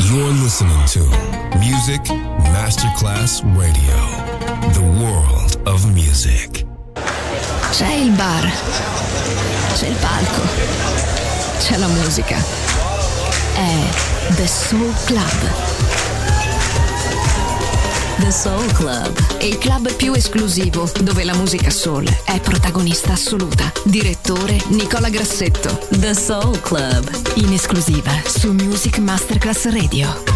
You're listening to Music Masterclass Radio, the world of music. C'è il bar, c'è il palco, c'è la musica. È The Soul Club. The Soul Club, il club più esclusivo dove la musica soul è protagonista assoluta. Direttore Nicola Grassetto. The Soul Club, in esclusiva su Music Masterclass Radio.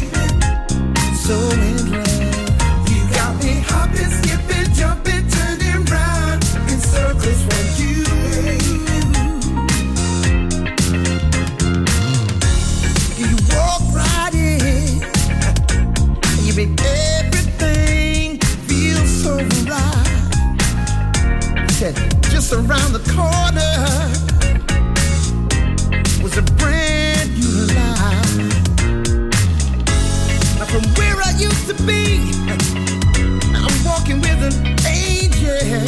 So in love, you got me hopping, skipping, jumping, turning said, just around the corner was a brand new life. Now from where I used to be, I'm walking with an angel.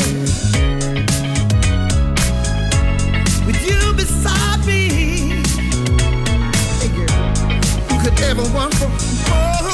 With you beside me, hey girl, who could ever want for more?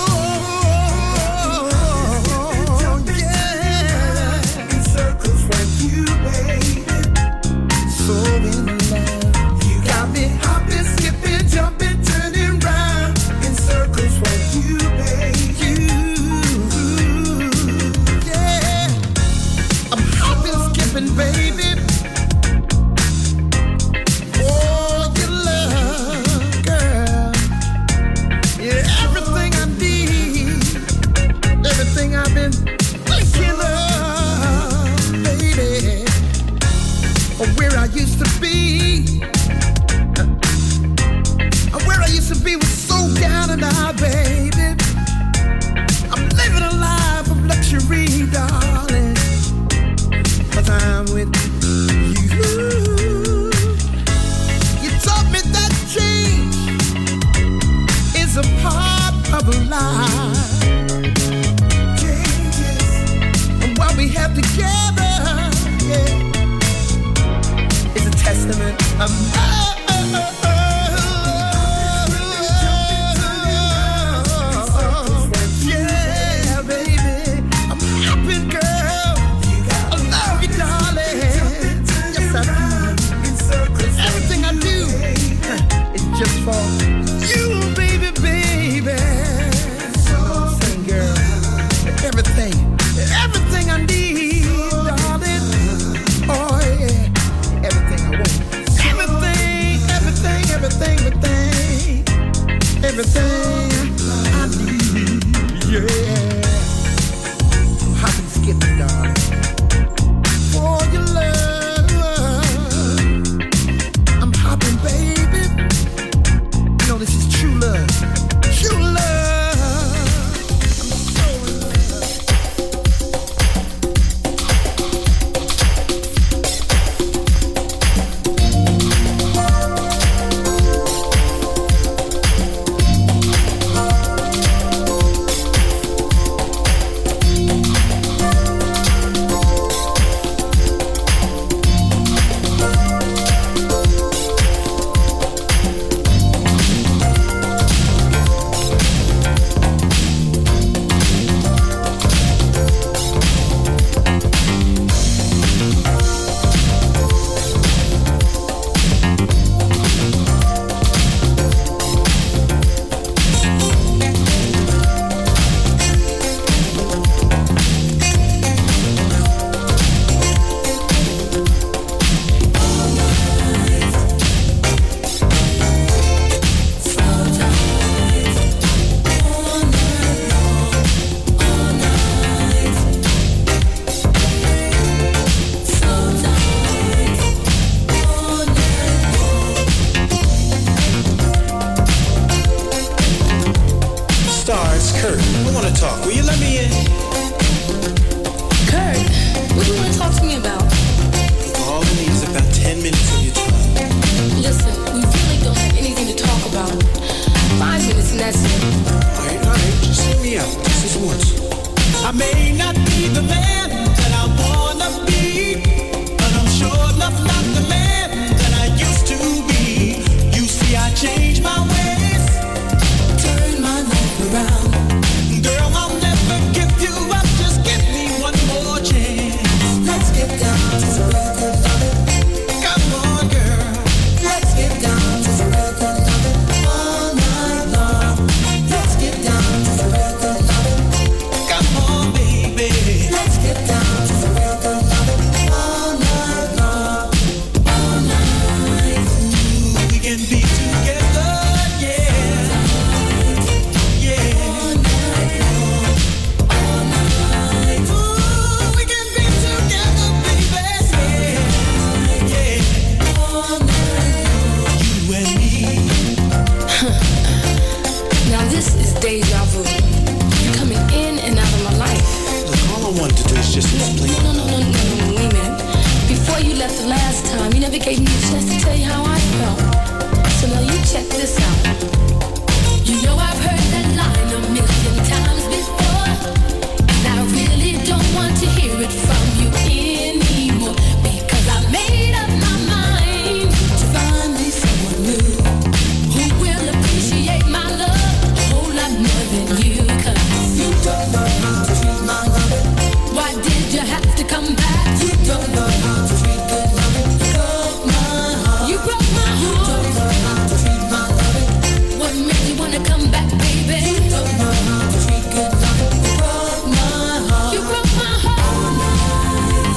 just explain. No, wait a minute. left the last time, you never gave me a chance to tell you how I felt. So now you check this out. You know I've heard that line a million times before, and I really don't want to hear it from you anymore, because I made up my mind to find me someone new who will appreciate my love a whole lot more than you. 'Cause you don't know how to treat my love. Why did you have to come back? You don't know how to treat good loving. You broke my heart. You broke my heart. You don't know how to treat my loving. What made you wanna come back, baby? You don't know how to treat good loving. You broke my heart. You broke my heart. All night,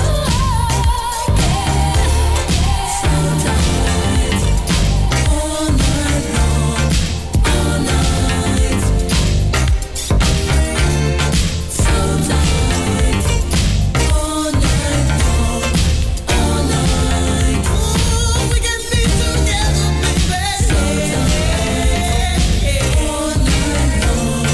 sometimes, all night long, all night, sometimes, all night long, all night. Ooh, we can be together, baby. Sometimes, all night long.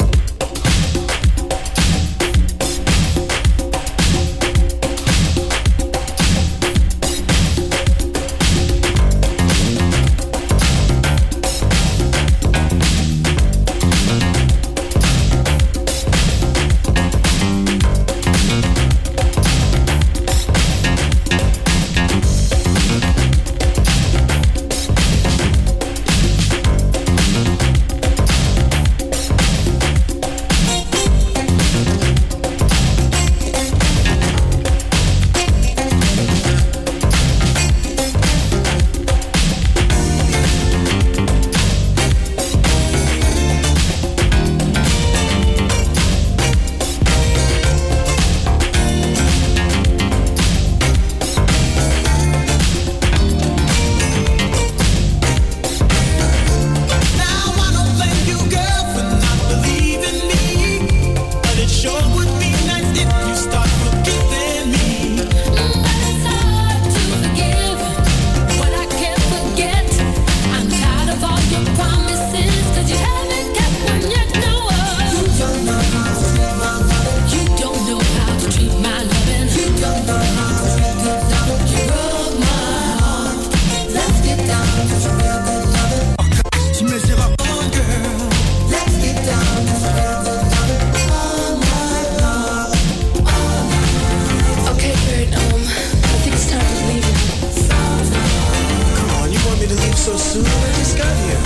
Now I don't blame you, girl, for not believing me, but it sure would be nice if you start forgiving me. But it's hard to forgive what I can't forget. I'm tired of all your promises, 'cause you haven't kept one yet. No, you don't know how to treat my loving. You don't know how to treat my loving. You don't know how to treat good loving. You broke my heart. Let's get down to some real good loving. Tu me diras, oh girl. Let's get down to some real good loving. All night long, all night. Okay, Kurt, I think it's time to leave now. Come on, you want me to leave so soon? I just got here.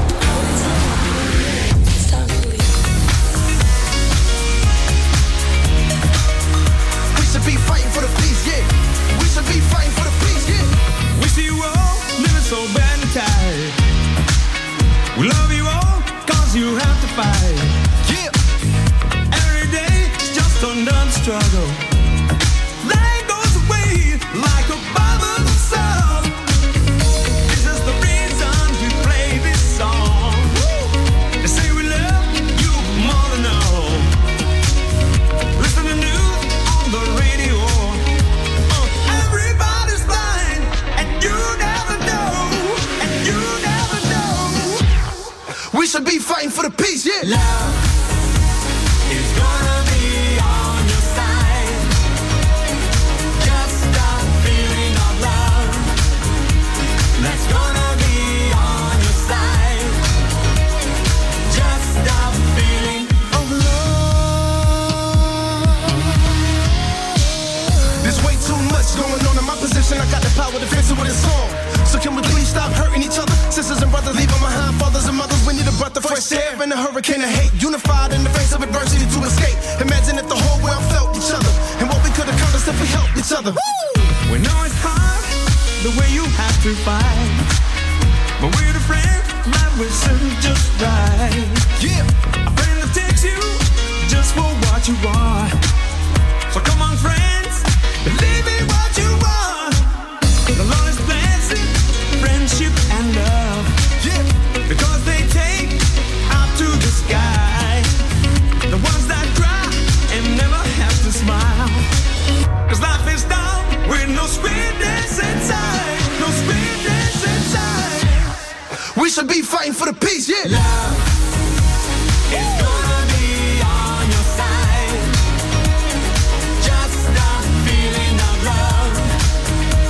It's time to leave. We should be fighting for the peace, yeah. We should be fighting for the peace, yeah. We see you all living so bad and tired. We love you all, cause you have to fight. Yeah. Every day is just another struggle. Life goes away like a bubble of salt. This is the reason we play this song. They say we love you more than all. Listen to news on the radio. Everybody's blind, and you never know, and you never know. We should be fighting for the peace, yeah. Love is gonna be on your side. Just stop feeling of love. That's gonna be on your side. Just stop feeling of love. There's way too much going on in my position. I got the power to fix it with a song. So can we please stop hurting each other? Sisters and brothers leaving behind fathers and mothers. We need a breath of fresh air in a hurricane of hate. Unified in the face of adversity to escape. Imagine if the whole world felt each other, and what we could accomplish if we helped each other. We know it's hard, the way you have to fight. But we're the friends that will serve just right. Yeah. A friend that takes you just for what you are. So come on, friends, believe me what you want. The Lord is blessing friendship and love. Yeah. Because they take up to the sky. The ones that cry and never have to smile. 'Cause life is down with no sweetness inside. No sweetness inside. We should be fighting for the peace, yeah. Love is gonna be on your side. Just stop feeling of love.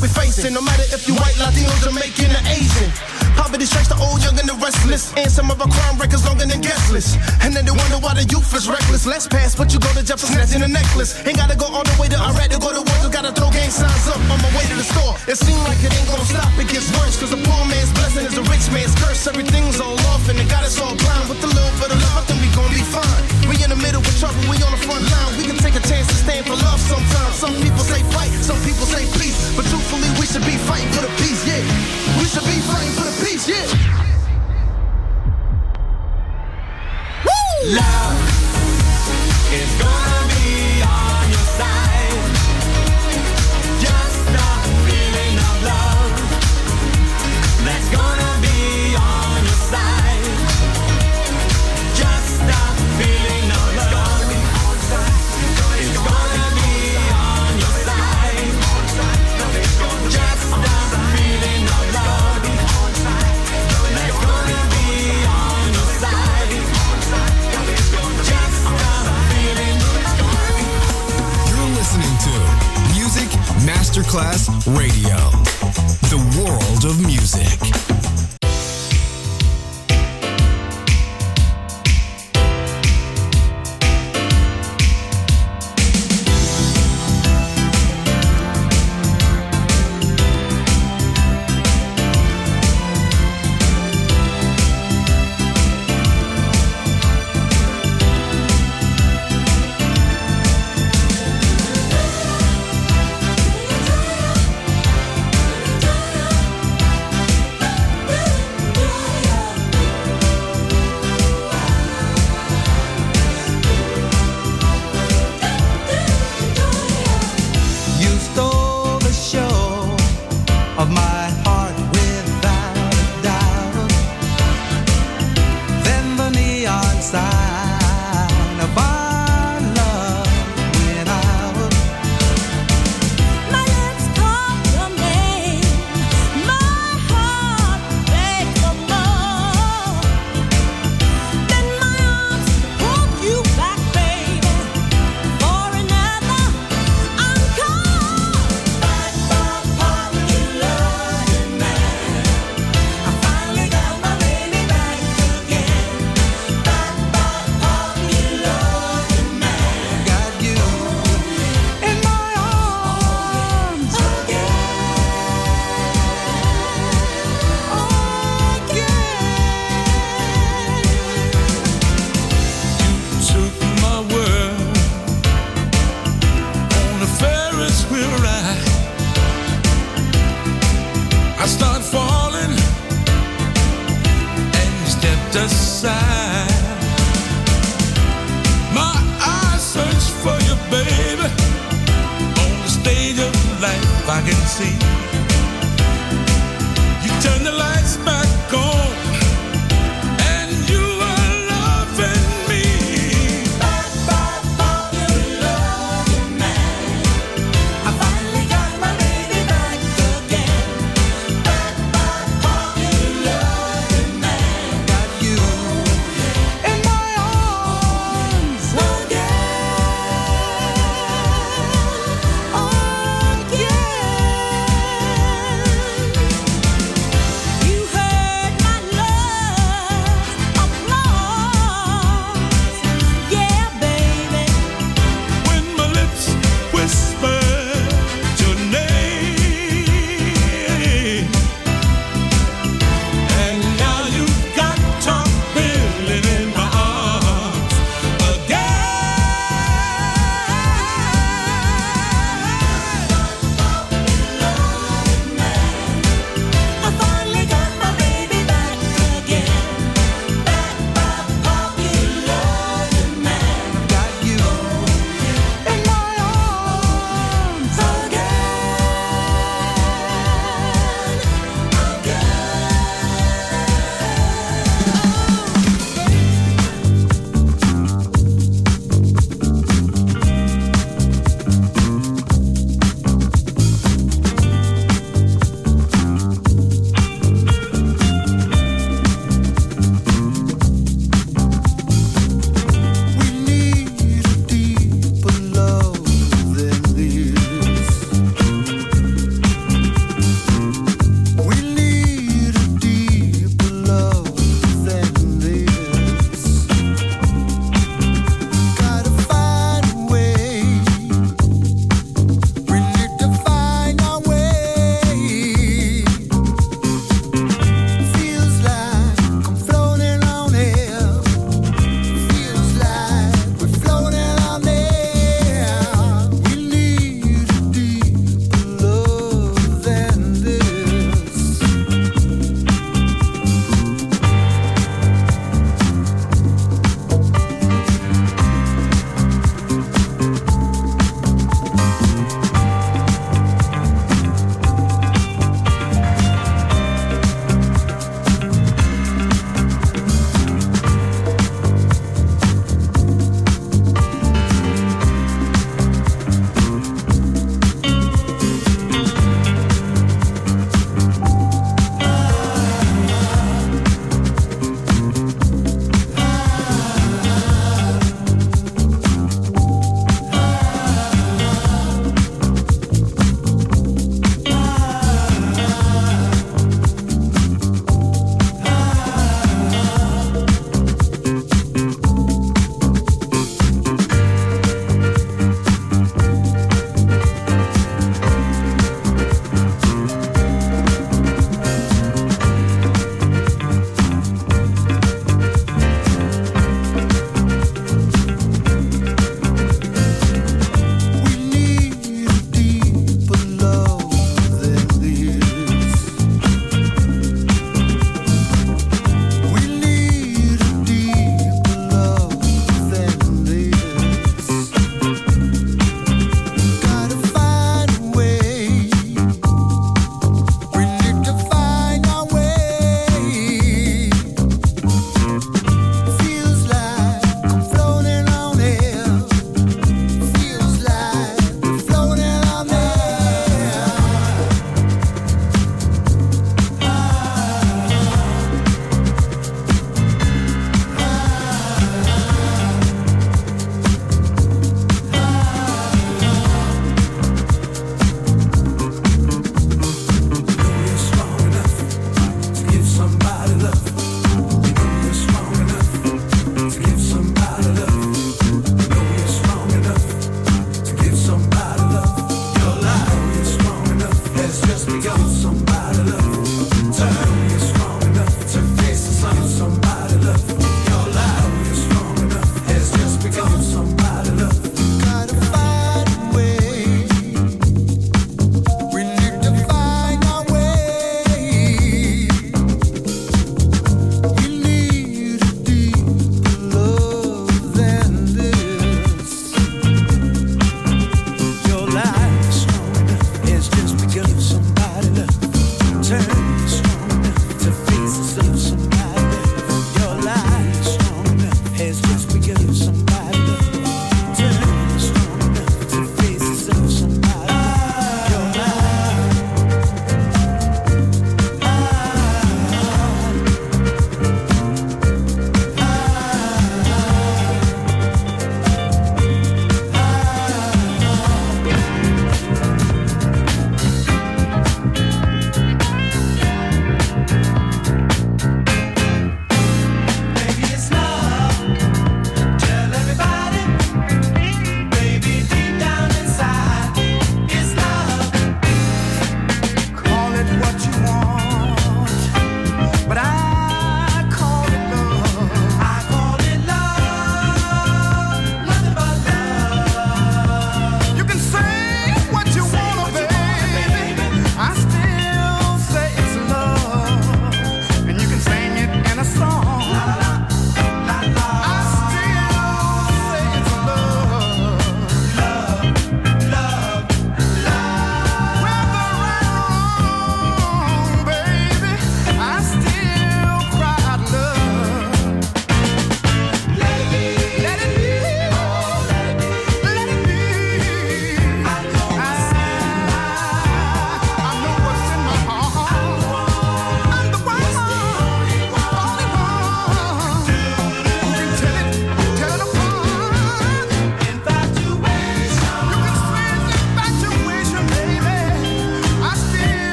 we're facing. No matter if you white, Latino, Jamaican, or Asian. Poverty strikes the old, young, and the restless. And some of our crime records longer than guest lists. And then they wonder why the youth is reckless. Less pass, but you go to jail for snatching a necklace. Ain't gotta go all the way to Iraq to go to war. Just gotta throw gang signs up on my way to the store. It seems like it ain't gonna stop, it gets worse. Cause a poor man's blessing is a rich man's curse. Everything's all off and they got us all blind. With a little bit of love, I think we gon' be fine. We in the middle with trouble, we on the front line. We can take a chance to stand for love sometimes. Some people say fight, some people say peace. But truthfully, we should be fighting for the peace, yeah. We should be fighting for the peace, yeah. Woo! Love is gonna be on your side. Just the feeling of love that's gonna be on your side. Just the feeling of love is gonna be on your side. Just the feeling of love that's gonna be on your side. Just the feeling. You're listening to Music Masterclass Radio, the world of music. You heard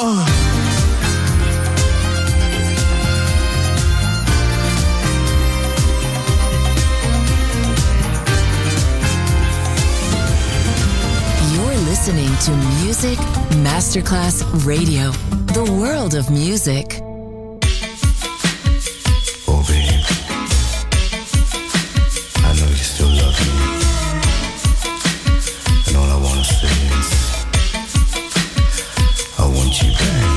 Listening to Music Masterclass Radio, the world of music. Oh, babe, I know you still love me, and all I wanna say is, I want you back.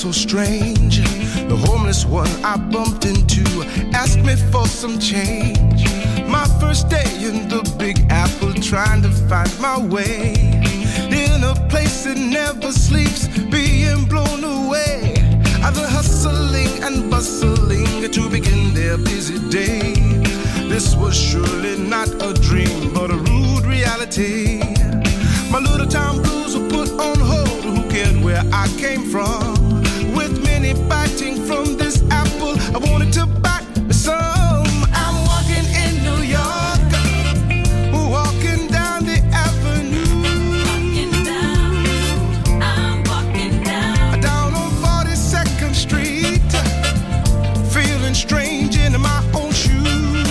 so strange. The homeless one I bumped into asked me for some change. My first day in the Big Apple, trying to find my way in a place that never sleeps, being blown away. The hustling and bustling to begin their busy day. This was surely not a dream, but a rude reality. My little town blues were put on hold. Who cared where I came from? With many biting from this apple, I wanted to bite some. I'm walking in New York, walking down the avenue. Walking down, I'm walking down. Down on 42nd Street, feeling strange in my own shoes.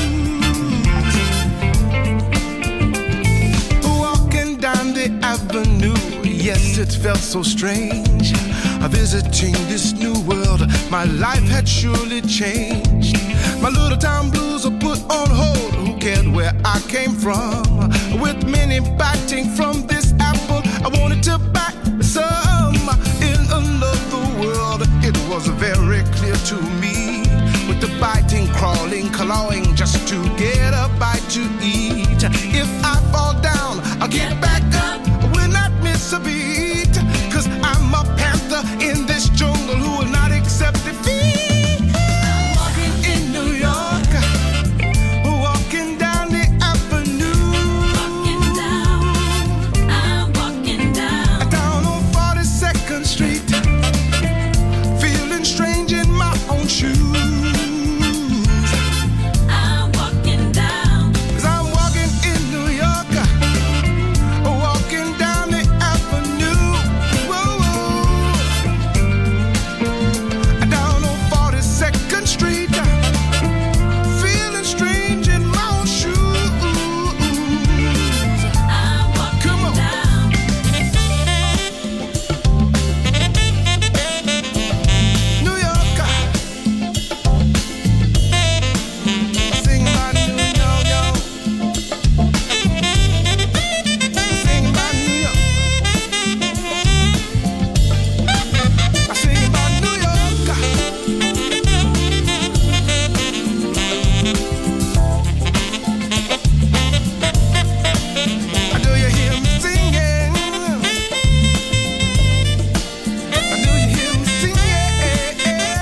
Walking down the avenue, yes, it felt so strange. Visiting this new world, my life had surely changed. My little town blues are put on hold. Who cared where I came from? With many biting from this apple, I wanted to bite some. In another world, it was very clear to me. With the biting, crawling, clawing, just to get a bite to eat. If I fall down, I'll get back up. I will not miss a beat. 'Cause I'm a panther in this jungle who will not accept defeat. I'm walking in New York, walking down the avenue. Walking down, I'm walking down. Down on 42nd Street, feeling strange in my own shoes. I'm walking down. 'Cause I'm walking in New York, walking down the avenue. Whoa, whoa. Down on 42nd Street, feeling strange in my own shoes. I'm walking Come on. down. New York, sing about New York, sing about New York. I sing about New York. Do you hear me singing? Do you hear me singing?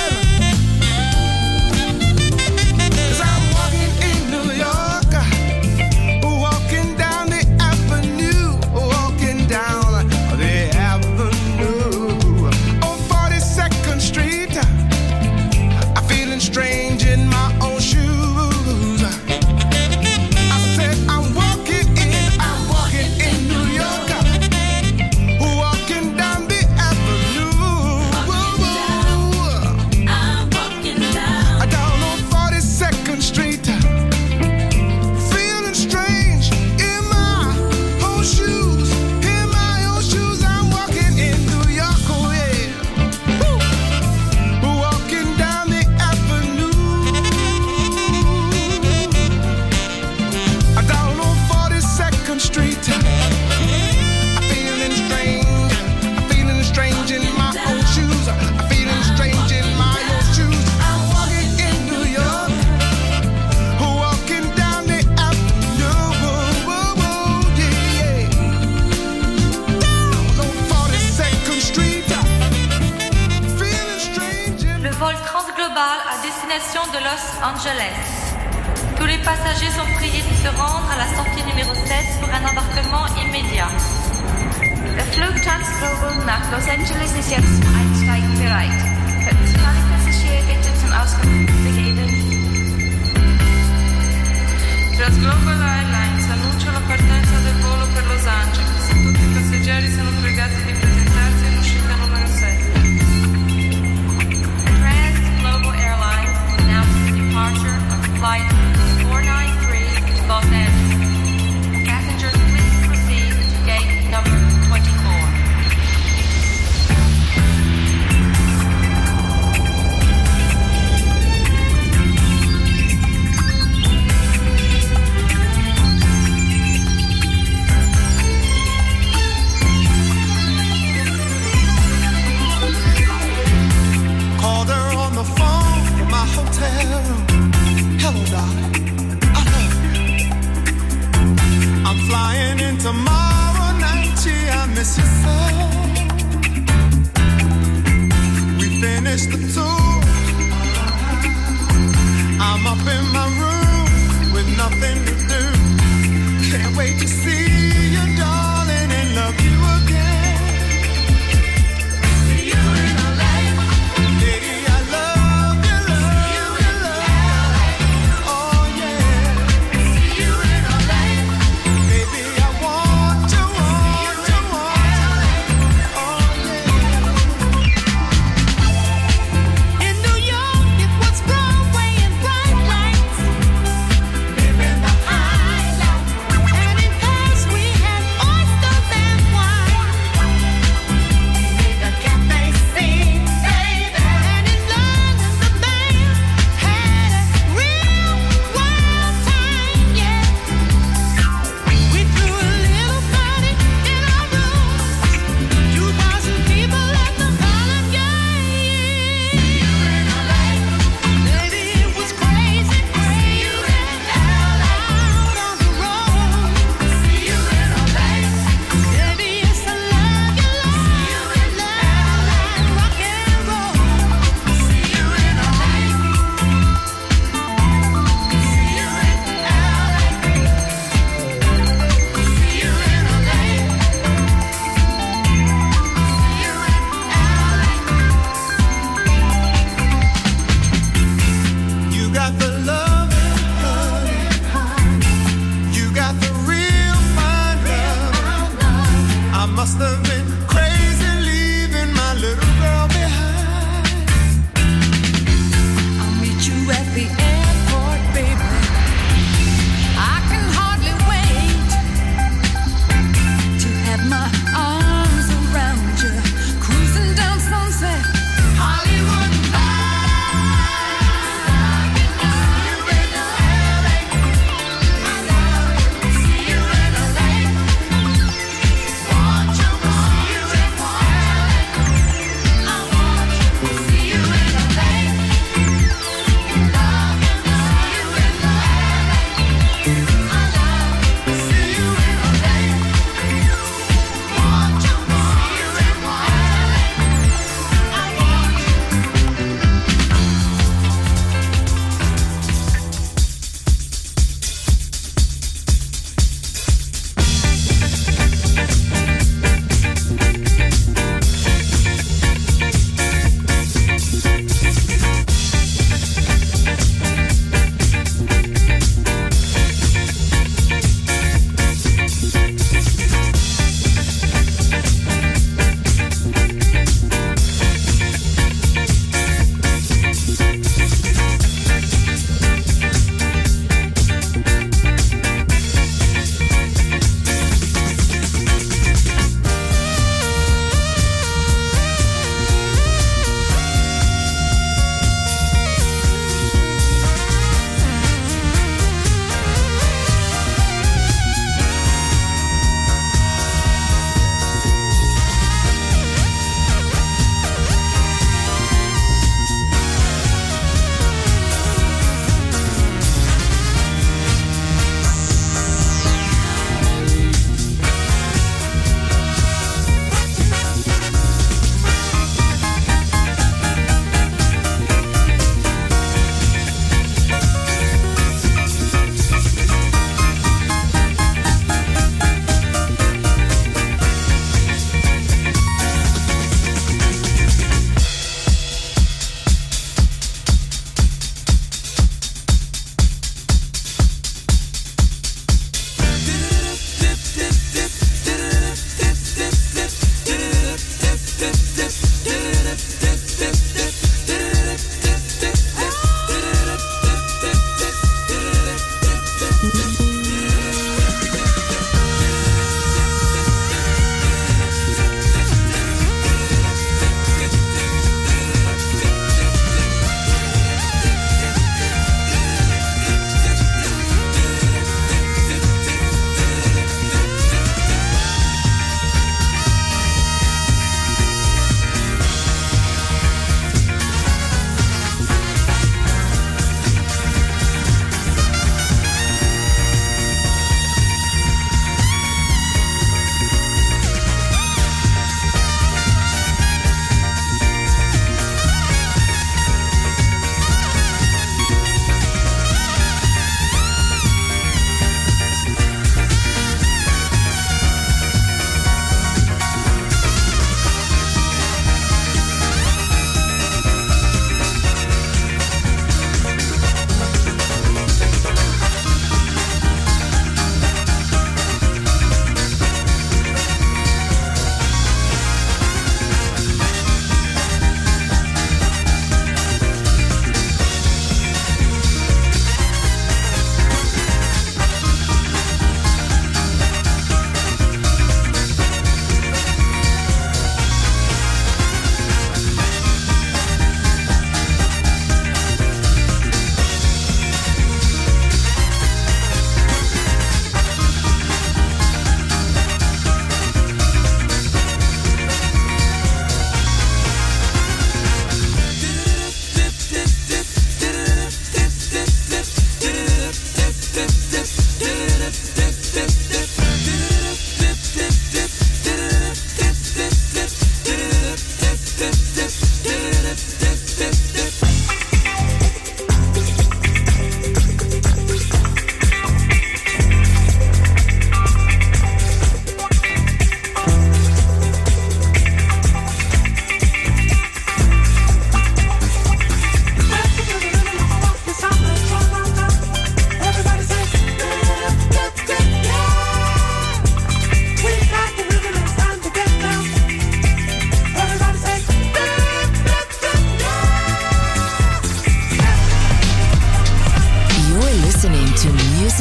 'Cause I'm walking in New York, walking down the avenue, walking down the avenue. On 42nd Street, I'm feeling strange in my own shoes. I said I'm walking in New York, walking down the avenue. Whoa, I'm walking down. down on 42nd Street, feeling strange in my own shoes. In my own shoes, I'm walking in New York, oh yeah. Woo. Walking down the avenue. Down on 42nd Street, I'm feeling strange in my own shoes. I'm feeling strange in my own shoes. I'm walking in New York, walking down the avenue. Whoa, whoa, yeah. Down on 42nd Street, feeling strange in Le vol transglobal à destination de Los Angeles. Tous les passagers sont priés de se rendre à la sortie numéro 7 pour un embarquement immédiat. Der Flug Transglobal nach Los Angeles ist jetzt zum Einsteigen bereit. Könnten sich alle Passagiere bitte zum Ausgang begeben? Transglobal Airlines annuncia la partenza del volo per Los Angeles. Tutti i passeggeri sono pregati di presentarsi in uscita numero 7. Transglobal Airlines announces the departure of flight 493 to Los Angeles. Passengers, please proceed to gate number 24. I'm up in my room with nothing to do. Can't wait to see you, darling, and love you again. See you in LA. Lady, I love you, love you, love you. Oh yeah. See you in LA. Baby, I want to, want to, want to. Oh yeah. In New York, it was Broadway and bright lights. Living the high life. And in Paris, we had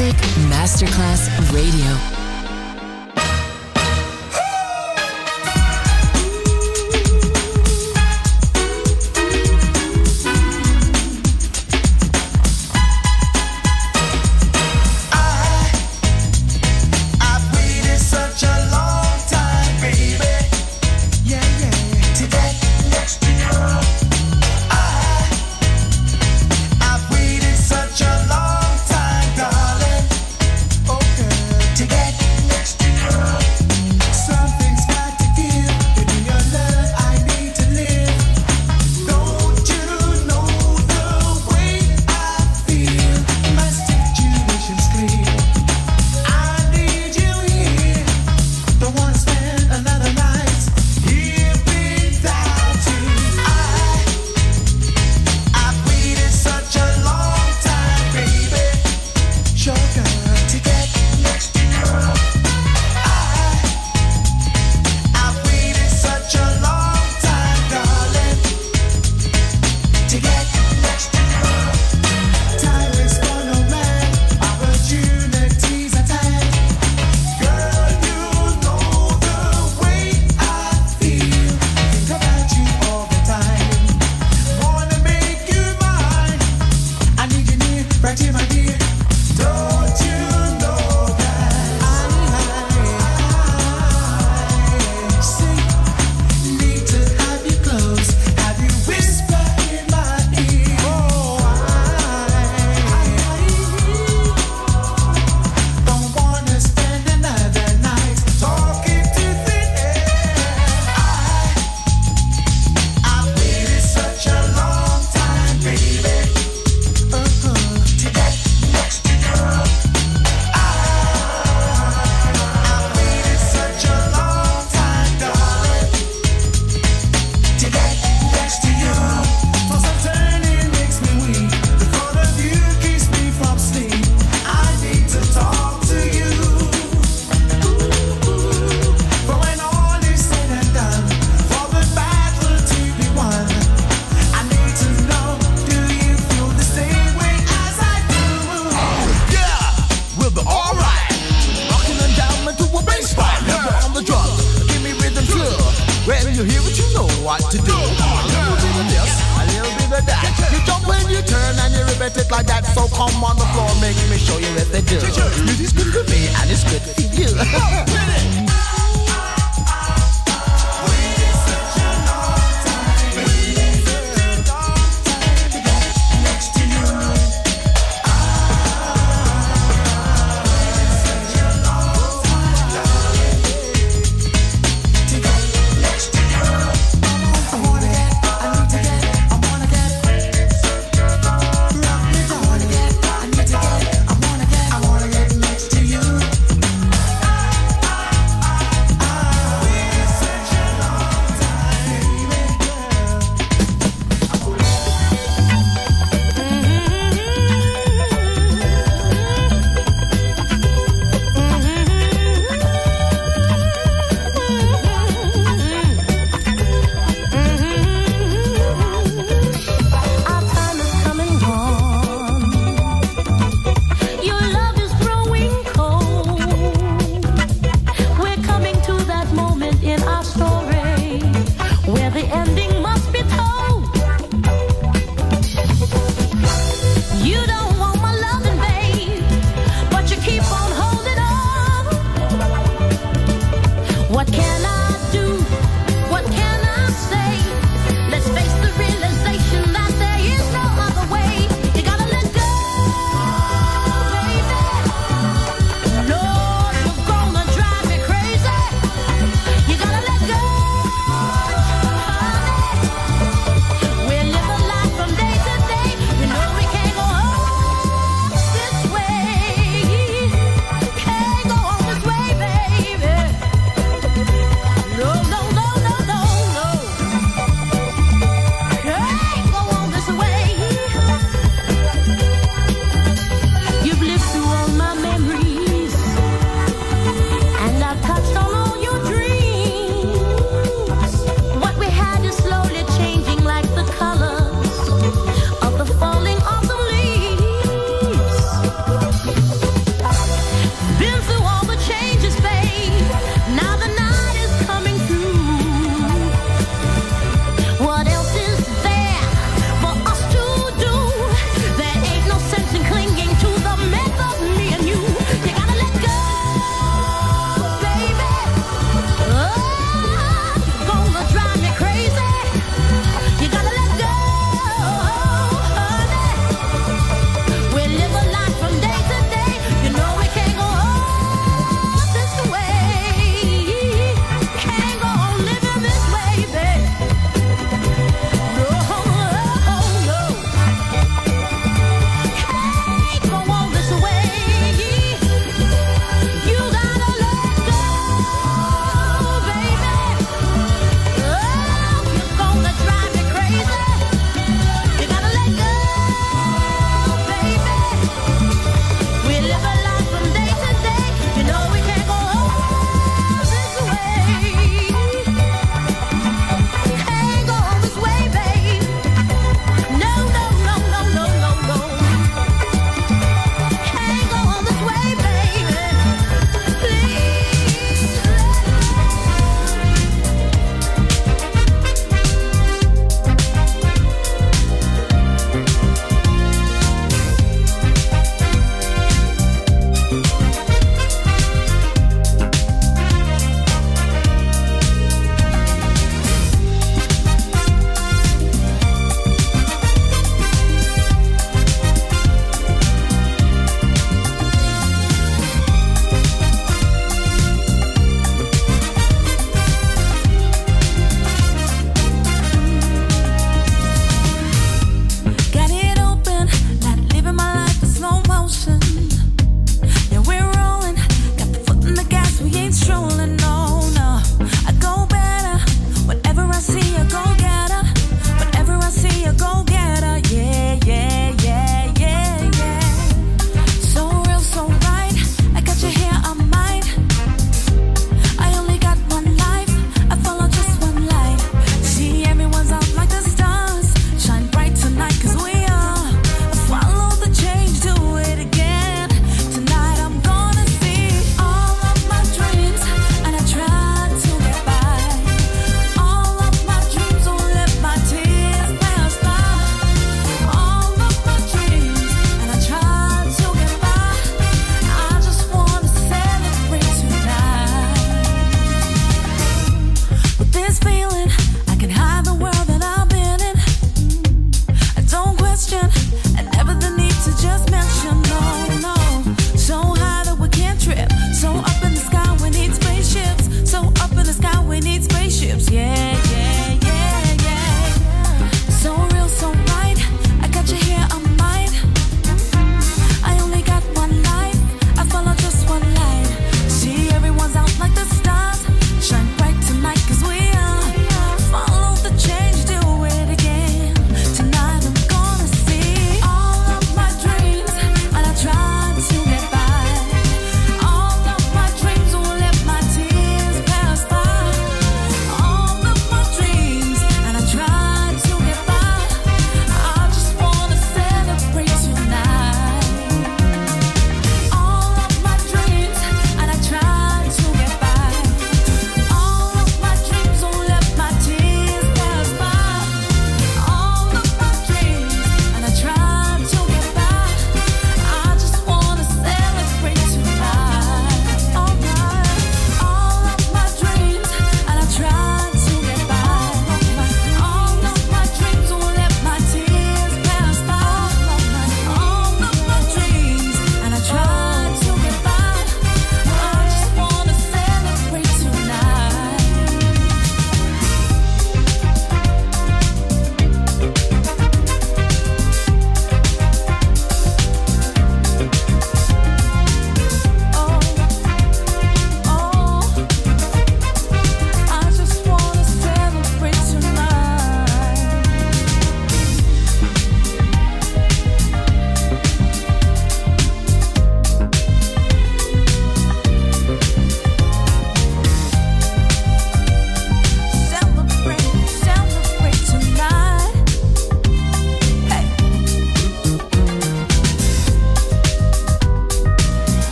Music Masterclass Radio.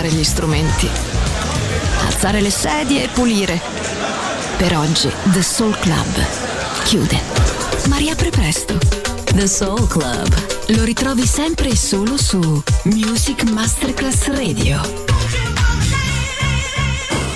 sistemare gli strumenti, alzare le sedie e pulire. Per oggi The Soul Club chiude, ma riapre presto. The Soul Club lo ritrovi sempre e solo su Music Masterclass Radio.